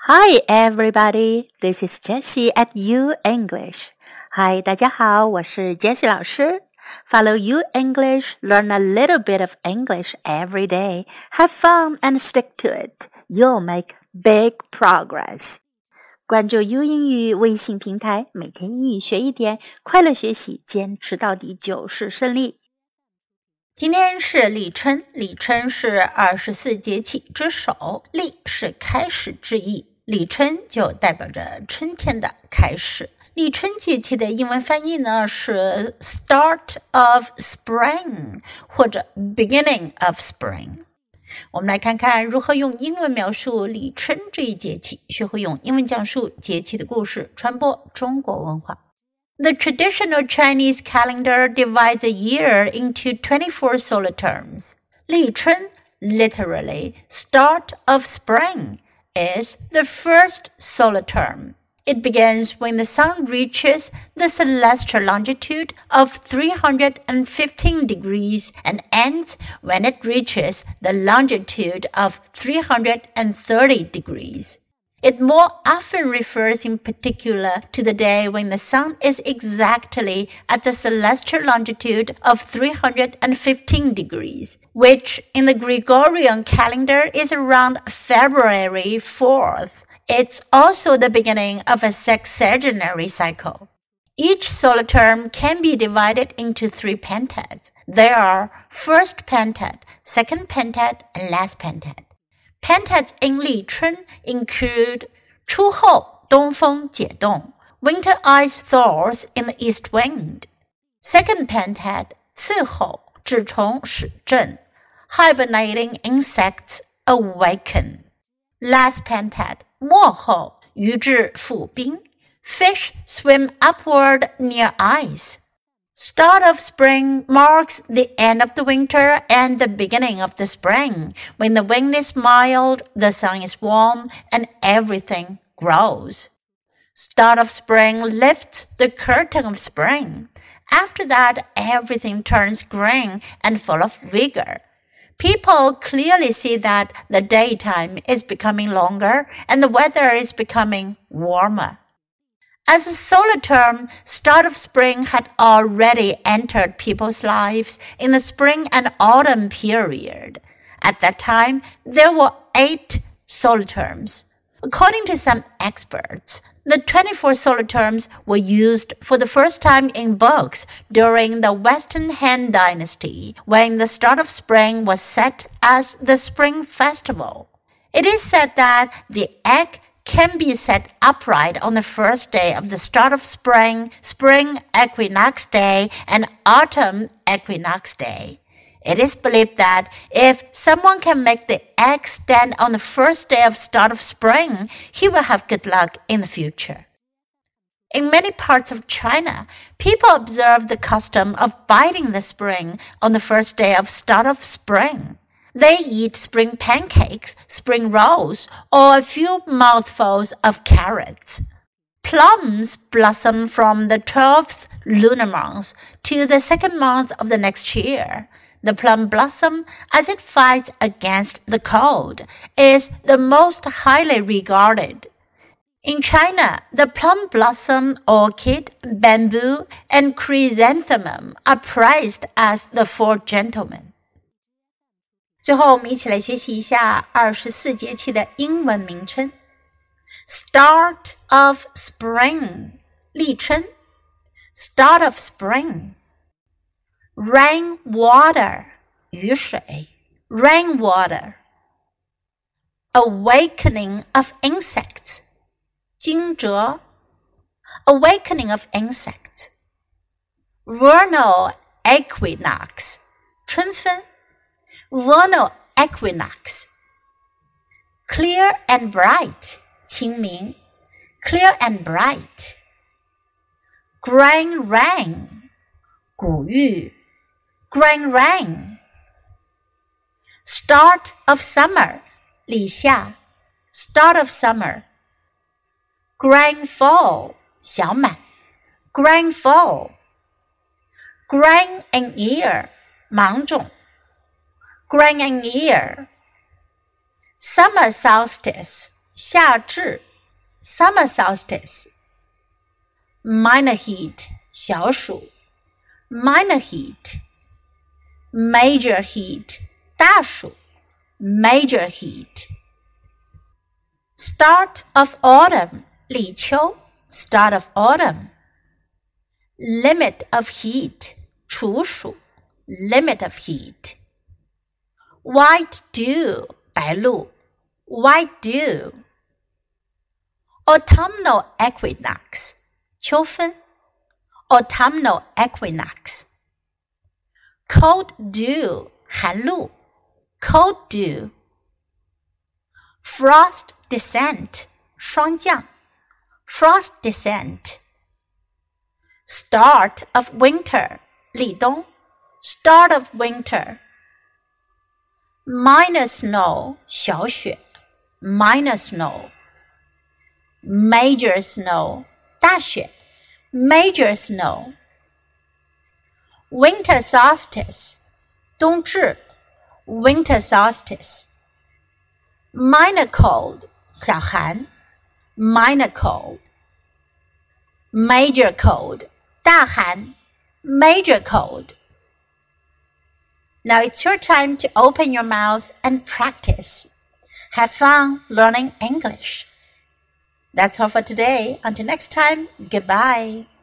Hi everybody, this is Jessie at U English. Hi, 大家好，我是 Jessie 老师。Follow U English, learn a little bit of English every day. Have fun and stick to it. You'll make big progress. 关注 U 英语微信平台，每天英语学一点，快乐学习，坚持到底就是胜利。 今天是立春，立春是24节气之首，立是开始之意，立春就代表着春天的开始。立春节气的英文翻译呢是 Start of Spring 或者 Beginning of Spring。我们来看看如何用英文描述立春这一节气，学会用英文讲述节气的故事，传播中国文化。The traditional Chinese calendar divides a year into 24 solar terms. 立春, literally start of spring, is the first solar term. It begins when the sun reaches the celestial longitude of 315 degrees and ends when it reaches the longitude of 330 degrees.It more often refers in particular to the day when the sun is exactly at the celestial longitude of 315 degrees, which in the Gregorian calendar is around February 4th. It's also the beginning of a sexagenary cycle. Each solar term can be divided into 3 pentads. There are first pentad, second pentad, and last pentad.Pentads in 立春 include 初后东风解冻 Winter ice thaws in the east wind. Second pentad 次后蛰虫始振 Hibernating insects awaken. Last pentad 末后鱼至复冰 Fish swim upward near ice.Start of spring marks the end of the winter and the beginning of the spring, when the wind is mild, the sun is warm, and everything grows. Start of spring lifts the curtain of spring. After that, everything turns green and full of vigor. People clearly see that the daytime is becoming longer and the weather is becoming warmer.As a solar term, start of spring had already entered people's lives in the spring and autumn period. At that time, there were 8 solar terms. According to some experts, the 24 solar terms were used for the first time in books during the Western Han Dynasty, when the start of spring was set as the Spring Festival. It is said that the egg can be set upright on the first day of the start of spring, spring equinox day, and autumn equinox day. It is believed that if someone can make the egg stand on the first day of start of spring, he will have good luck in the future. In many parts of China, people observe the custom of biting the spring on the first day of start of spring.They eat spring pancakes, spring rolls, or a few mouthfuls of carrots. Plums blossom from the 12th lunar month to the second month of the next year. The plum blossom, as it fights against the cold, is the most highly regarded. In China, the plum blossom, orchid, bamboo, and chrysanthemum are prized as the 4 gentlemen.最后我们一起来学习一下24节气的英文名称。Start of spring 立春 Start of spring Rain water 雨水 Rain water Awakening of insects 惊蛰 Awakening of insects Vernal equinox 春分Vernal equinox. Clear and bright. 清明 Clear and bright. Grand rain. 古玉 Grand rain. Start of summer. 立夏 Start of summer. Grand fall. 小满 Grand fall. Grain and ear. 芒种Grain and ear. Summer solstice, 夏至 Summer solstice Minor heat 小暑 Minor heat Major heat 大暑 Major heat Start of autumn 立秋 Start of autumn Limit of heat 处暑 Limit of heat White dew 白露 White dew Autumnal equinox 秋分 Autumnal equinox Cold dew 寒露 Cold dew Frost descent 霜降 Frost descent Start of winter 立冬 Start of winter Minor snow 小雪 Minor snow Major snow 大雪 Major snow Winter solstice 冬至 Winter solstice Minor cold 小寒 Minor cold Major cold 大寒 Major cold Now it's your time to open your mouth and practice. Have fun learning English. That's all for today. Until next time, goodbye.